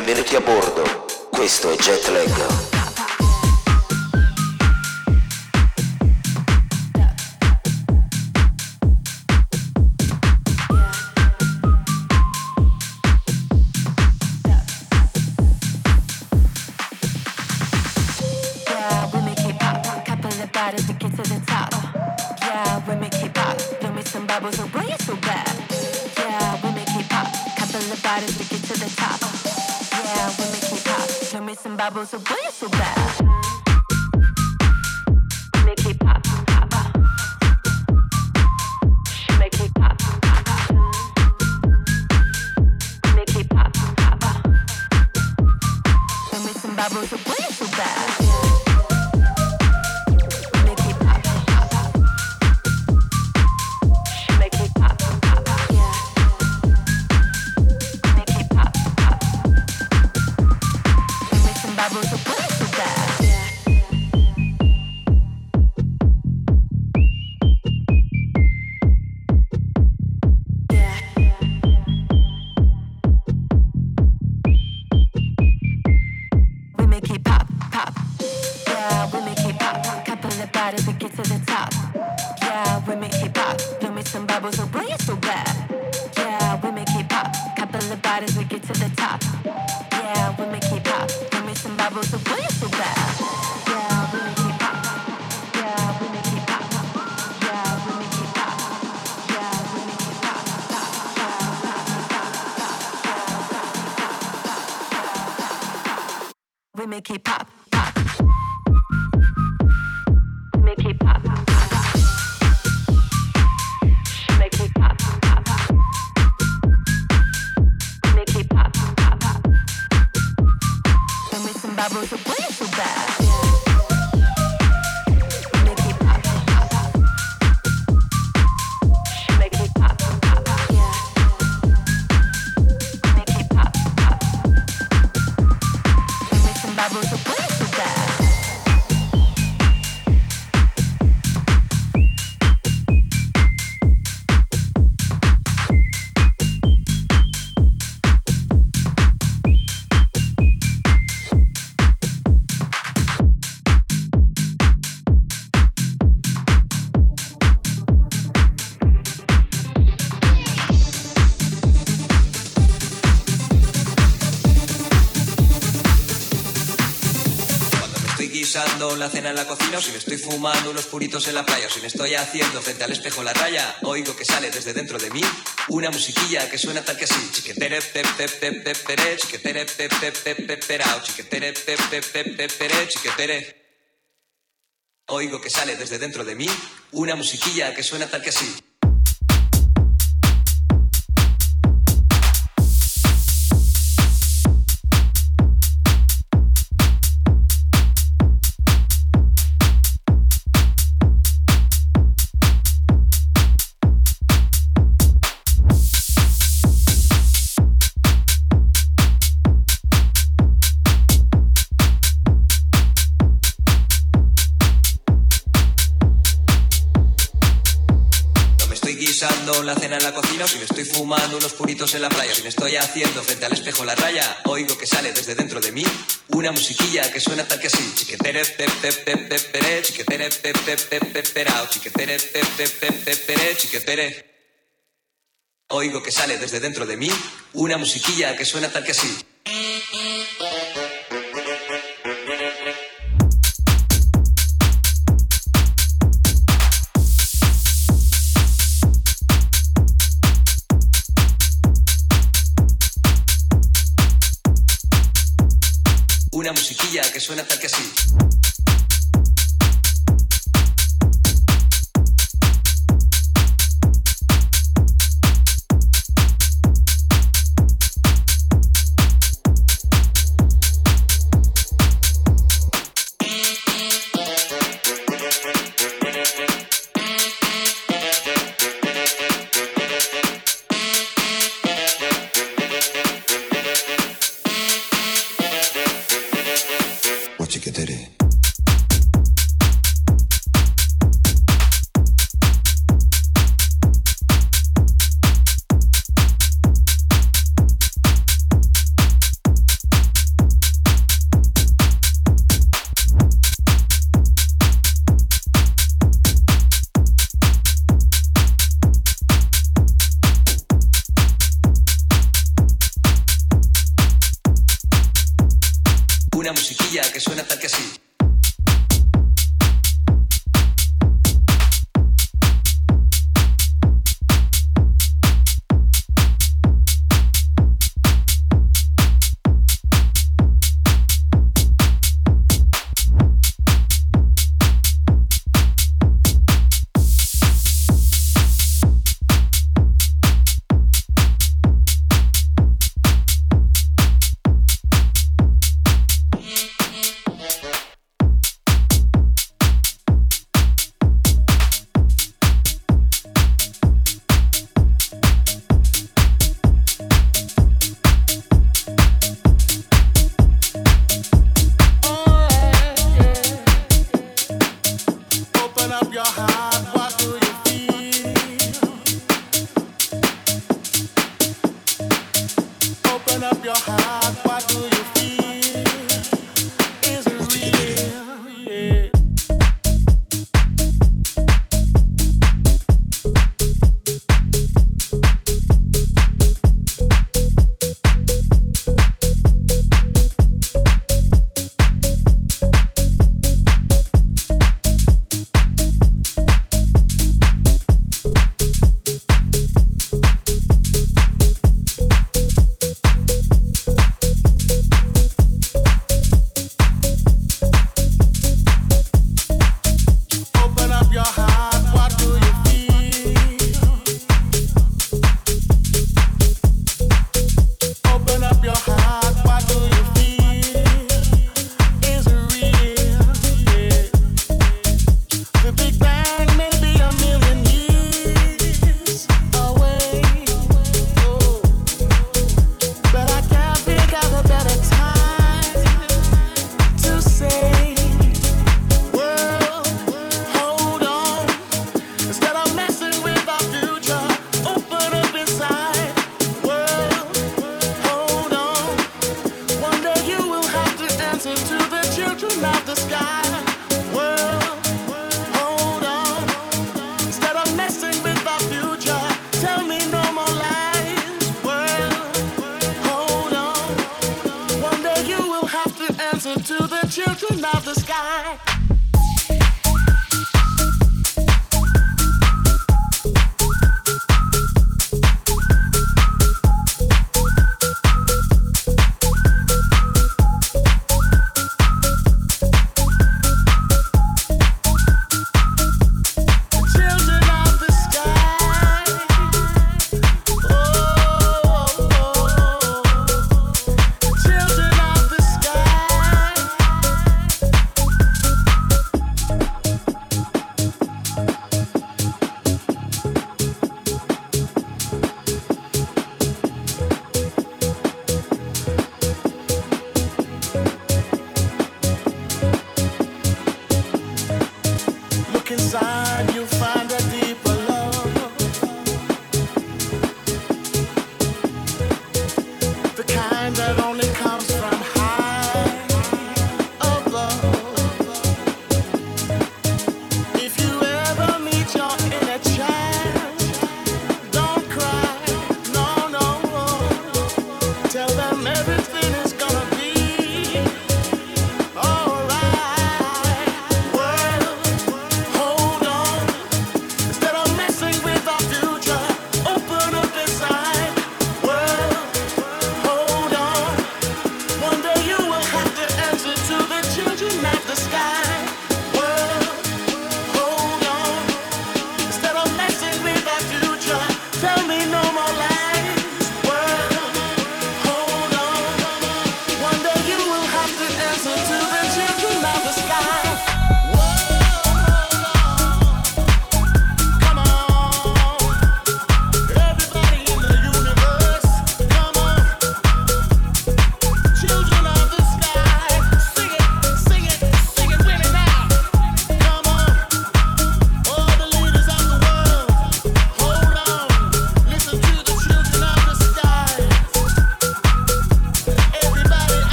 Benvenuti a bordo, questo è Jetlag. Bubbles, so boy, you're so bad. Make it pop, pop. She make it pop, pop. Make it pop, pop. Show me some bubbles, so boy, you're so bad. Make it pop, pop. She make it pop, pop. Make it pop, pop. Show me some bubbles, so boy. We make it pop, pop. Make it pop, pop. She make it pop, pop. Make it pop, pop. Show me some bubbles, so boy, you're so bad. Make it pop, pop. She make it pop, pop. Make it pop, pop. Show me some bubbles, so boy, you're so bad. Guisando la cena en la cocina, o si me estoy fumando unos puritos en la playa, o si me estoy haciendo frente al espejo la raya, oigo que sale desde dentro de mí una musiquilla que suena tal que así: chiquetere pe pe pe pe pere, chiquetere pe pe pe pe perao, chiquetere pe pe pe pe pere, chiquetere. Oigo que sale desde dentro de mí una musiquilla que suena tal que así. Guisando la cena en la cocina, o si me estoy fumando unos puritos en la playa, o si me estoy haciendo frente al espejo la raya, oigo que sale desde dentro de mí una musiquilla que suena tal que así: chiquetere pe pe pe pe pere, chiquetere pe pe pe pe perao, chiquetere pe pe pe pe pere, chiquetere. Oigo que sale desde dentro de mí una musiquilla que suena tal que así. Una musiquilla que suena tal que así. Chiquetere. que sí. Hold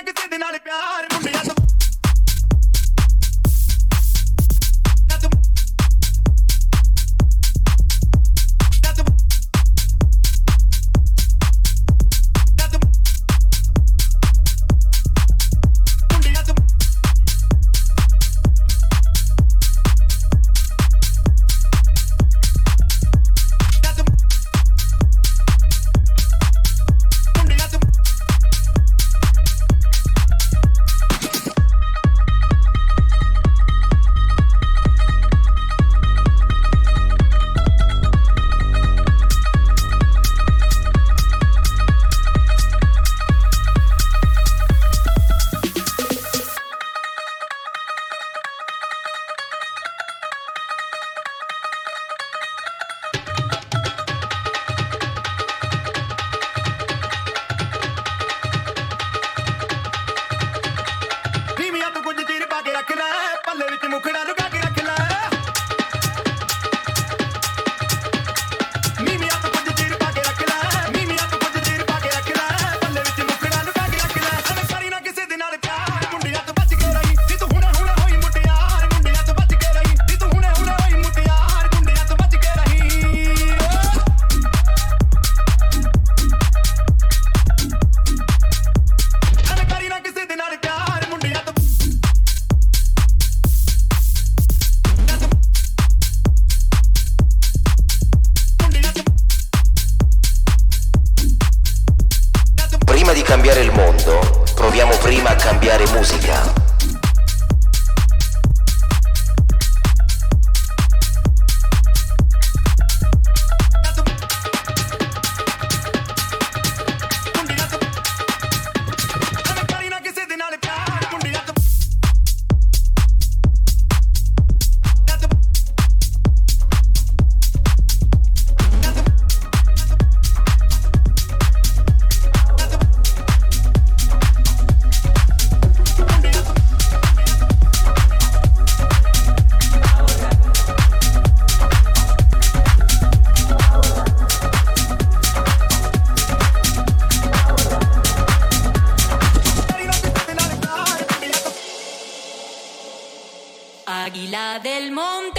Águila del monte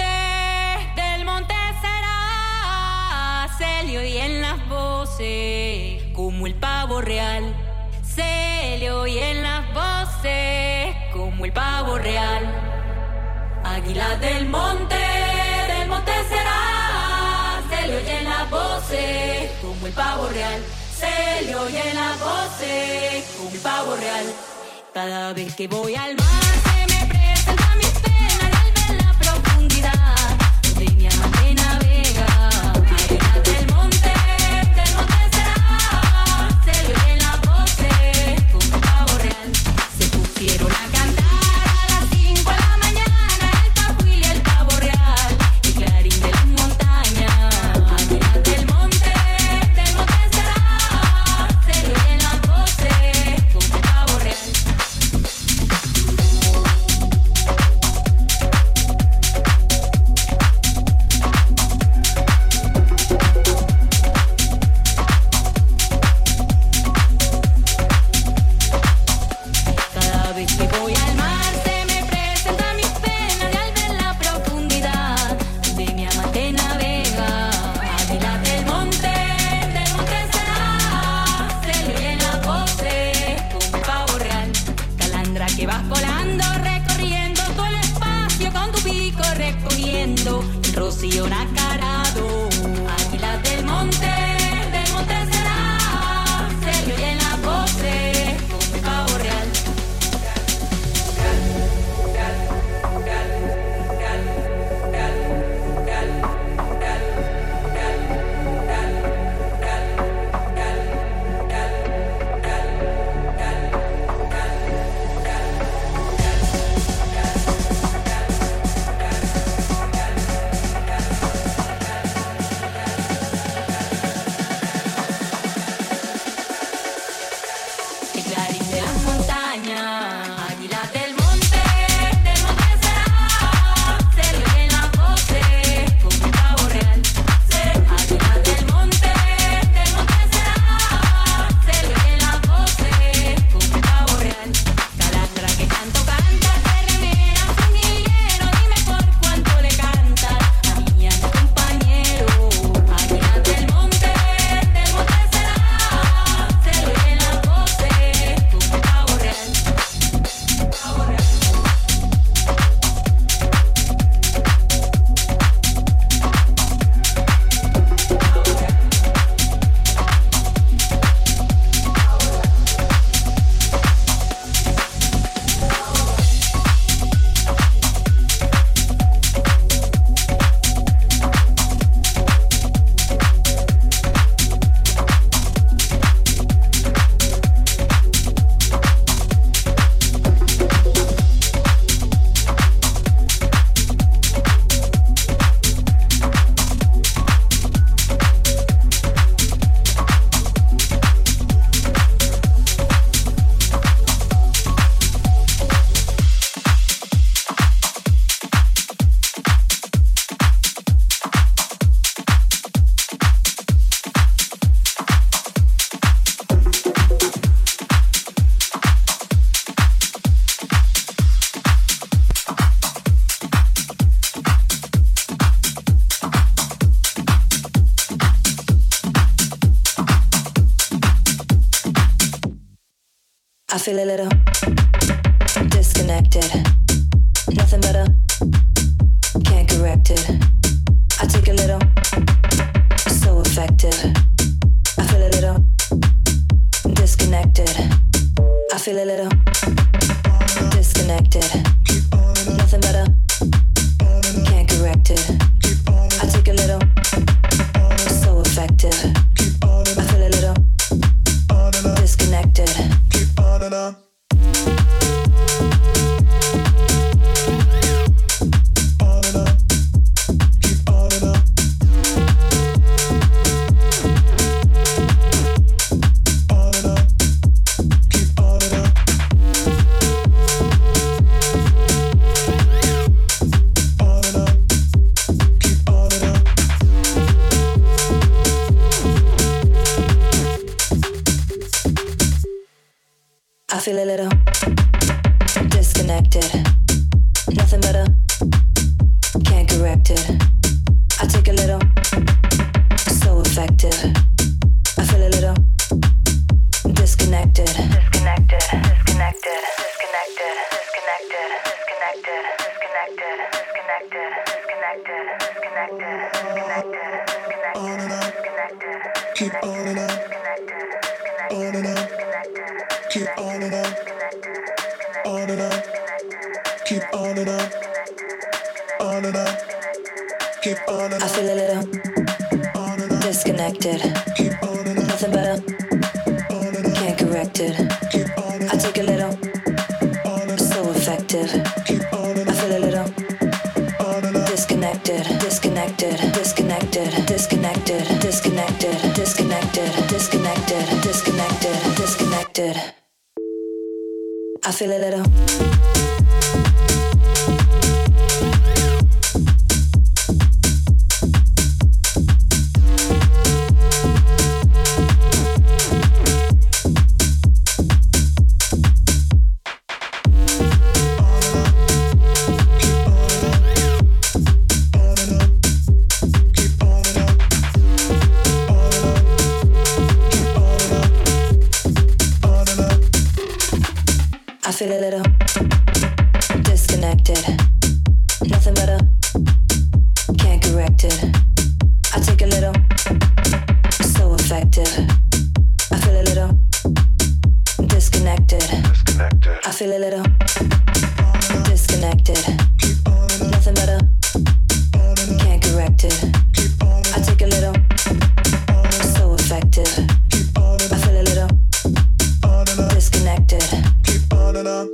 será, se le oyen las voces como el pavo real, se le oyen las voces como el pavo real. Águila del monte será, se le oyen las voces como el pavo real, se le oyen las voces como el pavo real. Cada vez que voy al mar se me presenta mis penas al ver la profundidad donde mi amante navega. Águila del monte será, se le oyen las voces como el pavo real. Se pusieron a cantar a las 5 de la mañana el papuil y el pavo real, el clarín de las montañas. Águila del monte será, se le oyen las voces como el pavo real. Cada vez que voy al mar se me presenta mis penas y al ver la profundidad de mi amante navega. Águila del monte será, se le oyen las voces como el pavo real. Calandra que vas volando, recorriendo todo el espacio con tu pico recogiendo el rocío nacarado. Águila del monte será, se le oyen las voces como el pavo real. feel a little disconnected. Nothing better, can't correct it. I take a little, so effective. I feel a little disconnected. I feel a little disconnected. Nothing better, can't correct it. I take a little, so effective. I feel a little disconnected. Keep on and on. I feel a little disconnected. Nothing better, can't correct it. I take a little, so effective. I feel a little disconnected. Disconnected, disconnected, disconnected, disconnected, disconnected, disconnected, disconnected, disconnected, disconnected, disconnected, disconnected, disconnected. Keep on and on. On and on. Keep on and on. On and on. Keep on and on. On and on. Keep on and on. I feel a little disconnected. Keep on and on. Nothing better, can't correct it. Keep on and on. I take a little, so effective. Keep on and I on. feel a little On and on. disconnected, disconnected, disconnected, disconnected, disconnected, disconnected, disconnected, disconnected, disconnected. I feel a little. I feel a little disconnected. Nothing better, can't correct it. I take a little, so effective. I feel a little disconnected. I feel a little disconnected. Nothing better, can't correct it. I take a little, so effective. I feel a little disconnected. On and on.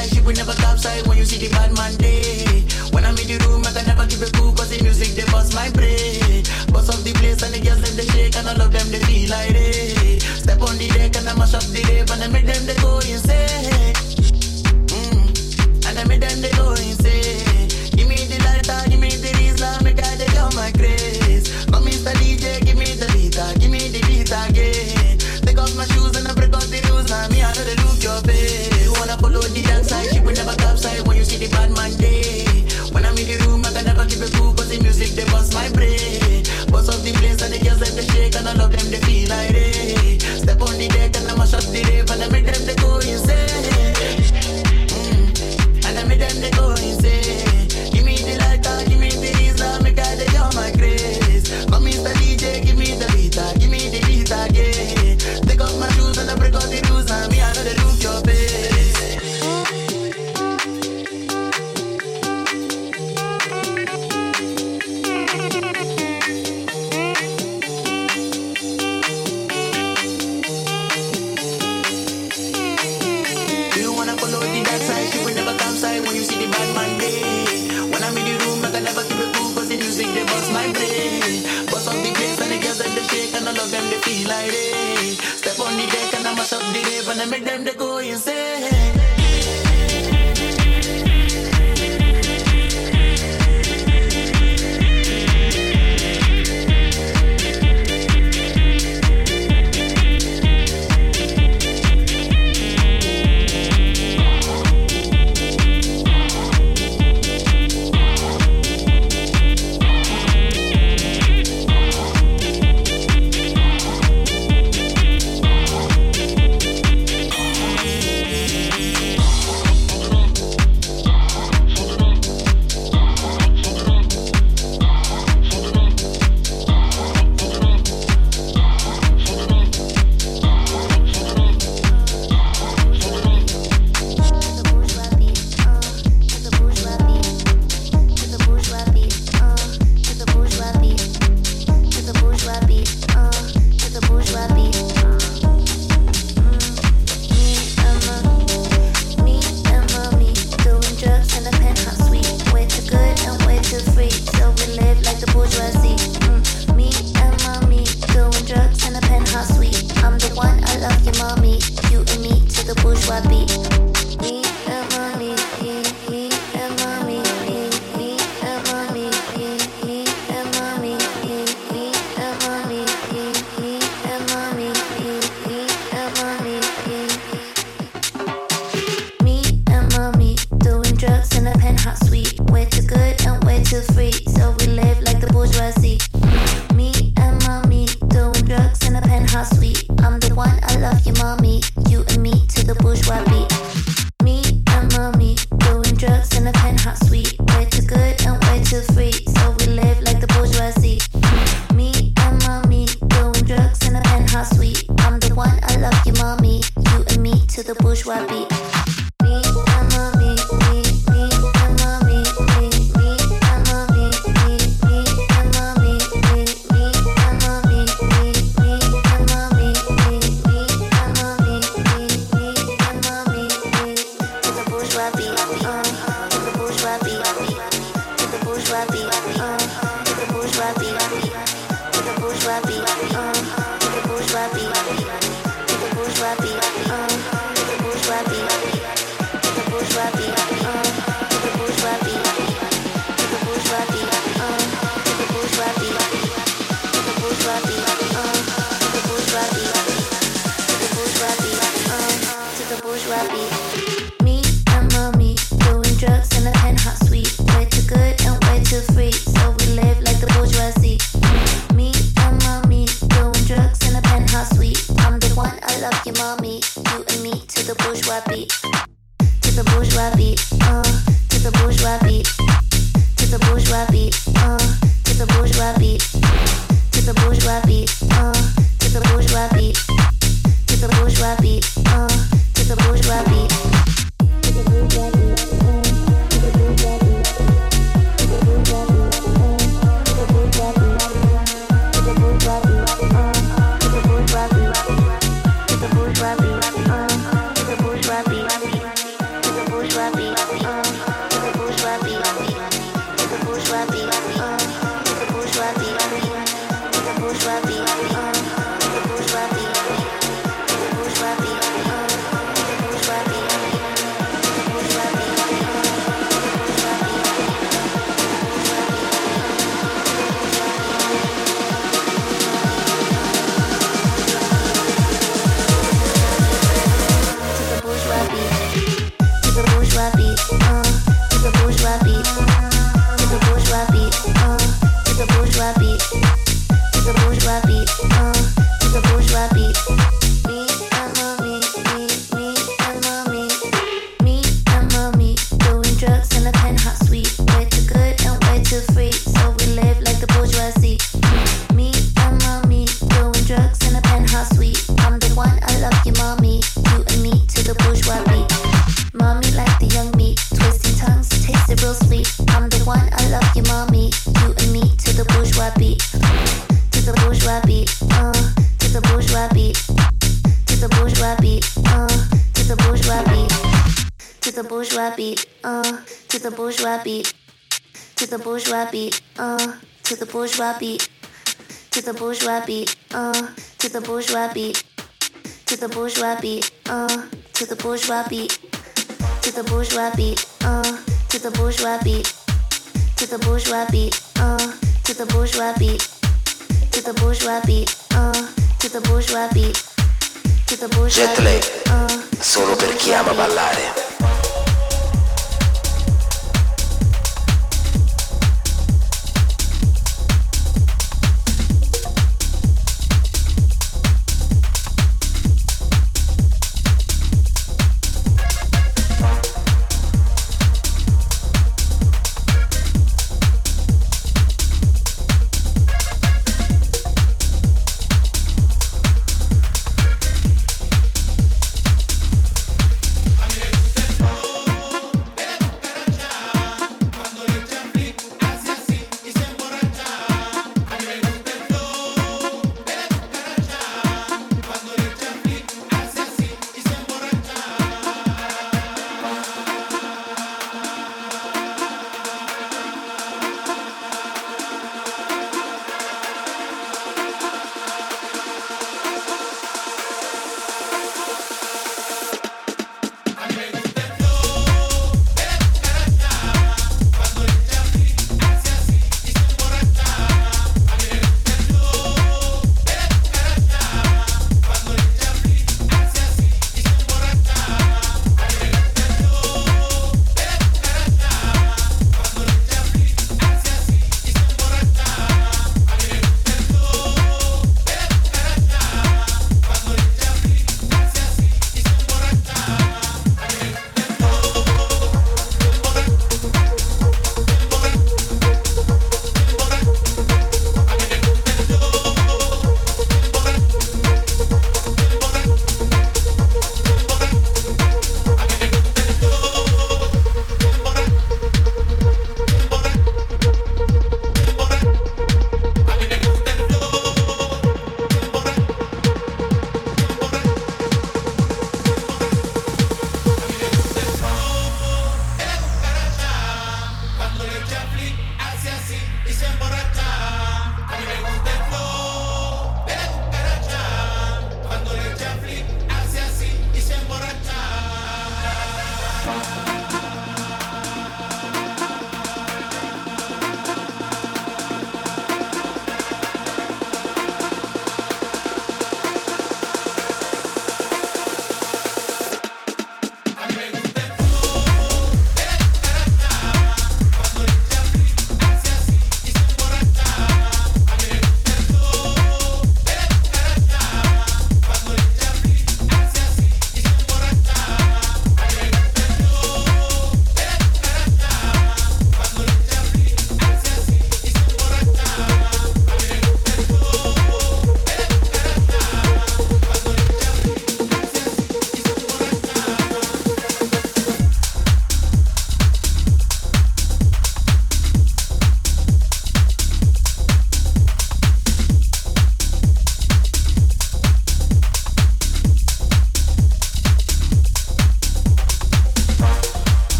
side, ship we never topside when you see the bad man day. When I'm in the room, I can never keep it cool, cause the music, they bust my brain. Bust up the place and the girls, them they shake, and all of them, they feel like they step on the deck and I mash up the rave, and I make them, they go insane. And I make them, they go insane. Give me the lighter, give me the Rizla, make I take out my grace. Come Mr. DJ, give me the beat, give me the beat again. Take off my shoes and I break out the rules, now me I know they look your face. You wanna follow the dance side, ship will never topside when you see the bad man day. When I'm in the room, I can never keep it cool, cause the music, they bust my brain. Bust up the place and the girls, them they shake, and all of them, they feel like they step on the deck and I mash up the rave, and I make them, they go insane. And I make them, they go insane. Give me the lighter, give me the Rizla, make I take all my grace. Come Mr. DJ, give me the beat, give me the beat again. Take off my shoes and I break out the rules, and me I know they look your face. Do you wanna follow the dark side? She will never come side when you see the bad man day. When I'm in the room, I can never keep it cool, cause the music, they bust my brain. Bust up the place and the girls, them they shake, and all of them, they feel like they step on the deck and I mash up the rave, and I make them, they go insane. the bourgeois beat, to the bourgeois beat, to the bourgeois beat, to the bourgeois beat, to the bourgeois beat, to the bourgeois beat, to the bourgeois beat, to the bourgeois beat, to the bourgeois beat, to the bourgeois beat, to the bourgeois beat, to the bourgeois beat, to the bourgeois beat, to the bourgeois beat, to the bourgeois Jet lag, solo per chi ama ballare.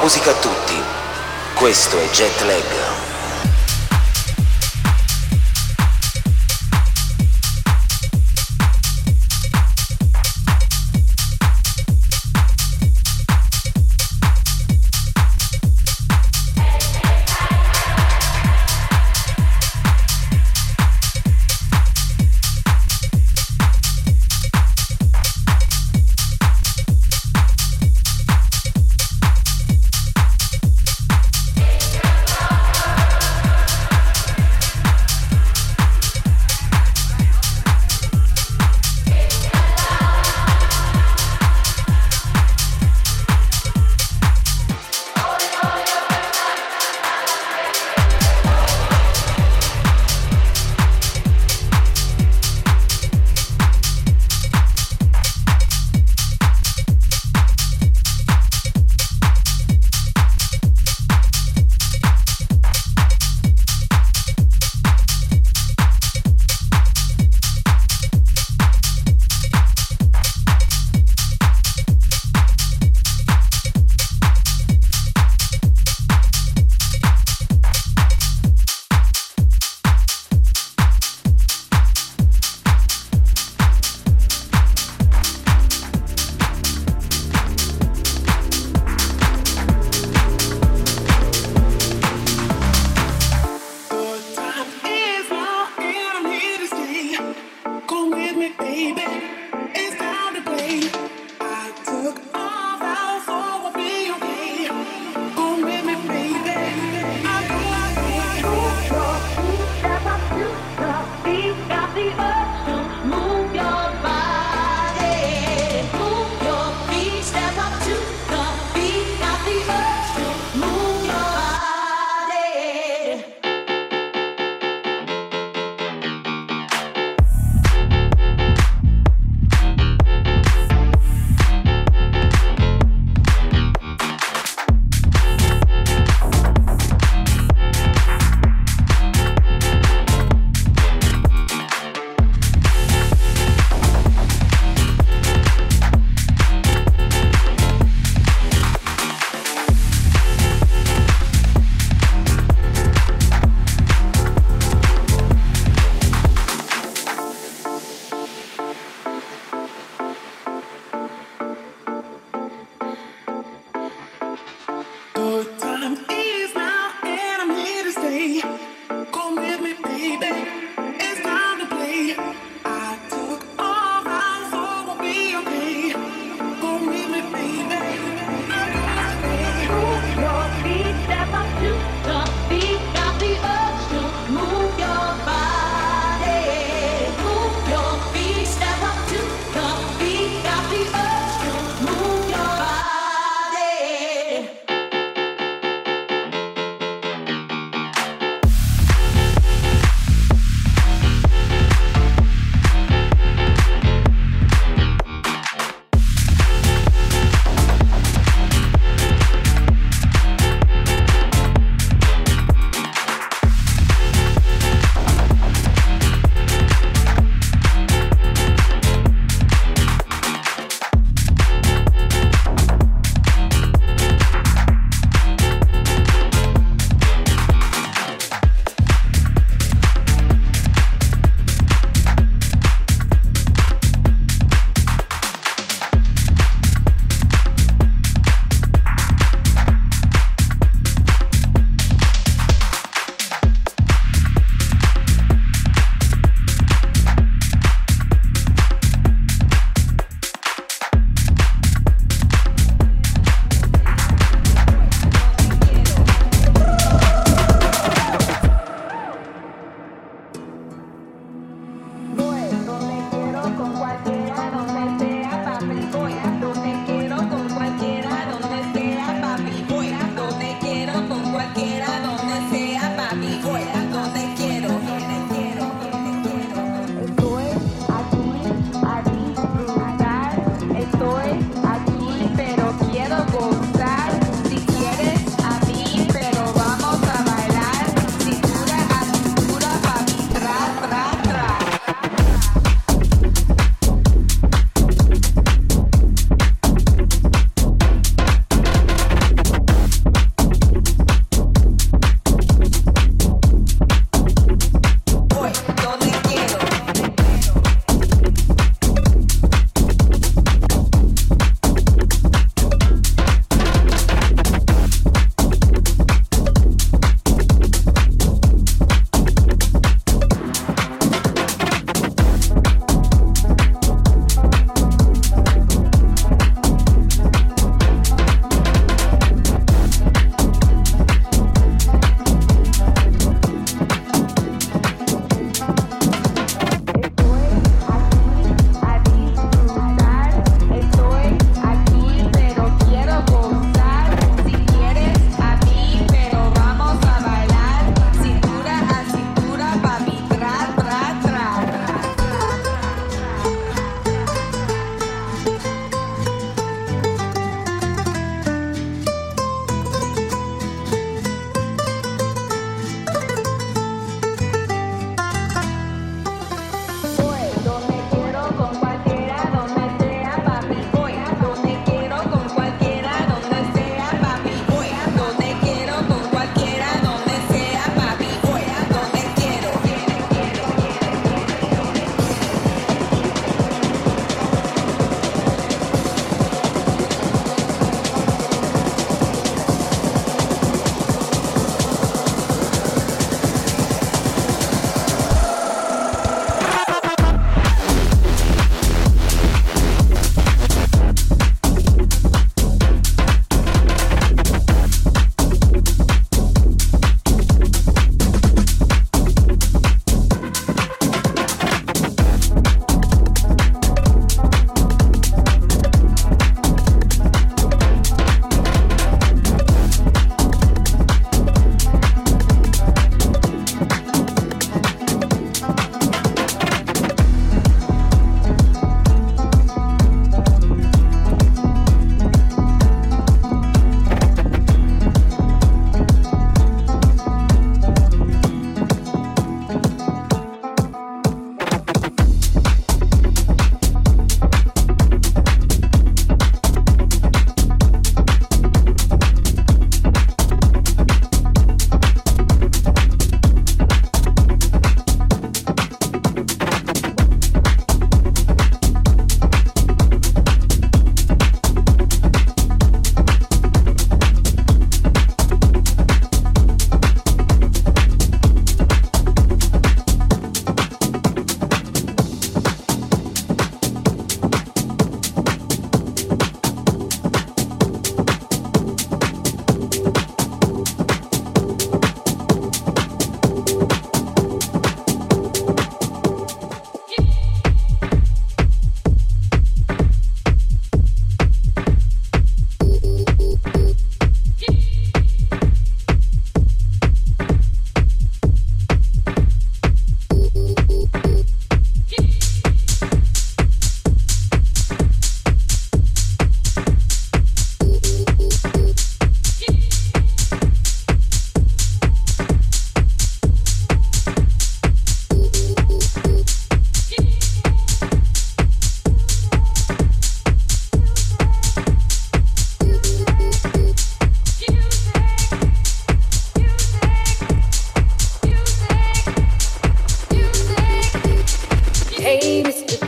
musica a tutti. Questo è Jet Lag.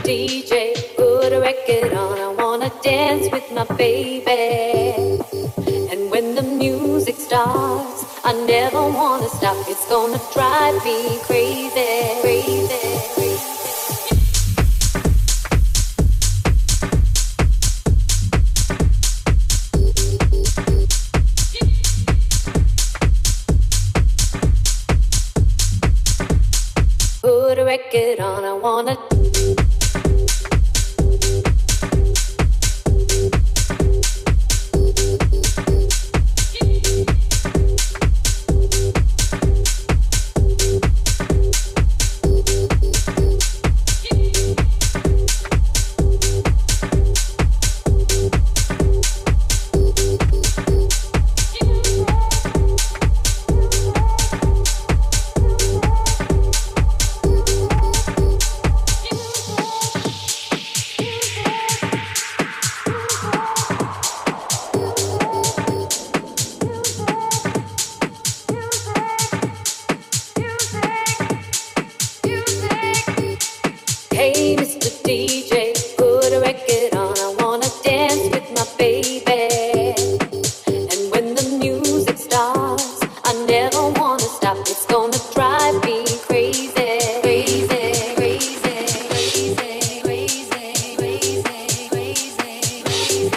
DJ, put a record on. I wanna dance with my baby. And when the music starts, I never wanna stop. It's gonna drive me crazy, crazy, crazy. Put a record on, I wanna. Hey, Mr. DJ, put a record on. I wanna dance with my baby. And when the music starts, I never wanna stop. It's gonna drive me crazy, crazy, crazy, crazy, crazy, crazy, crazy, crazy,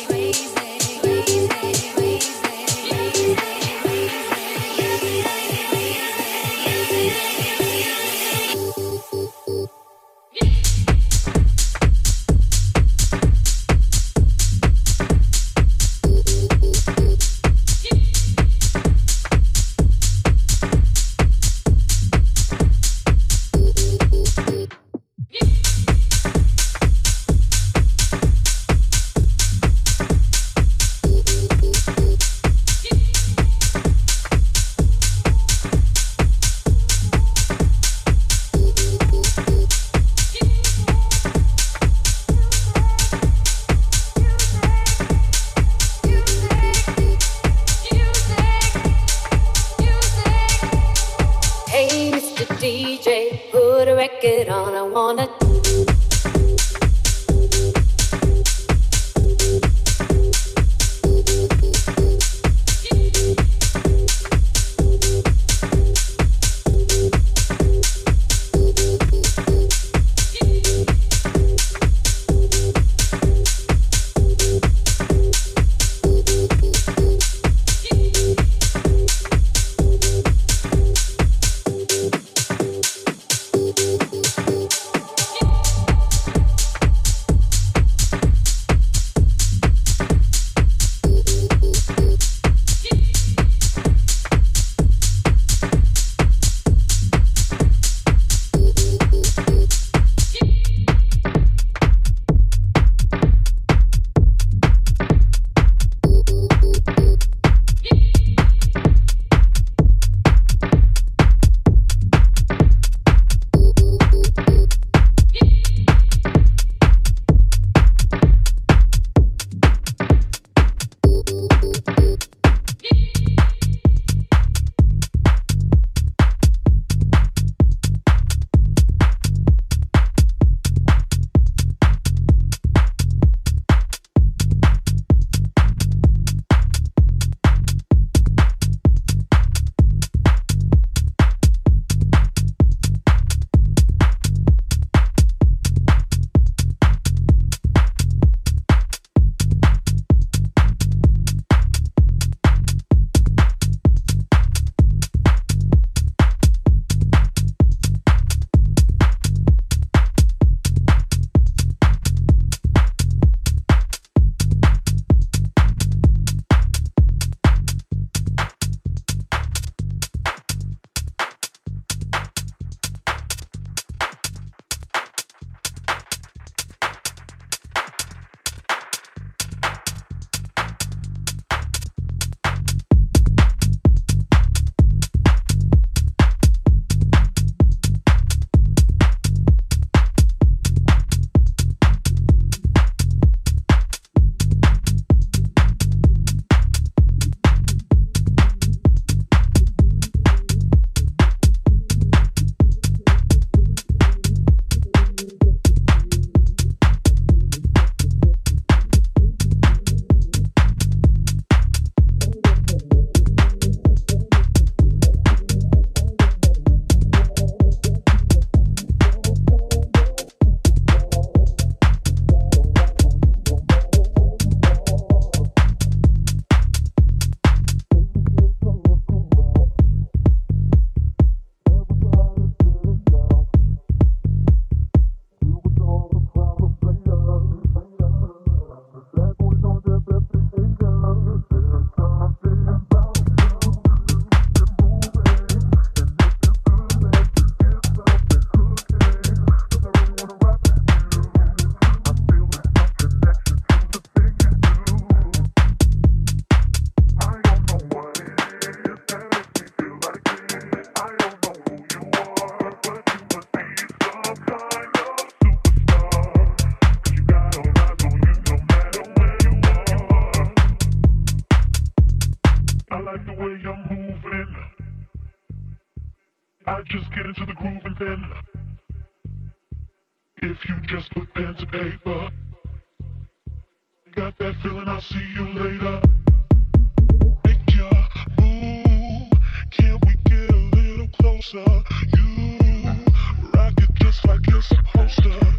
Hey, Mr. DJ, put a record on. I wanna. I just get into the groove and then if you just put pen to paper, got that feeling, I'll see you later. Make your move, can we get a little closer? You rock it just like you're supposed to.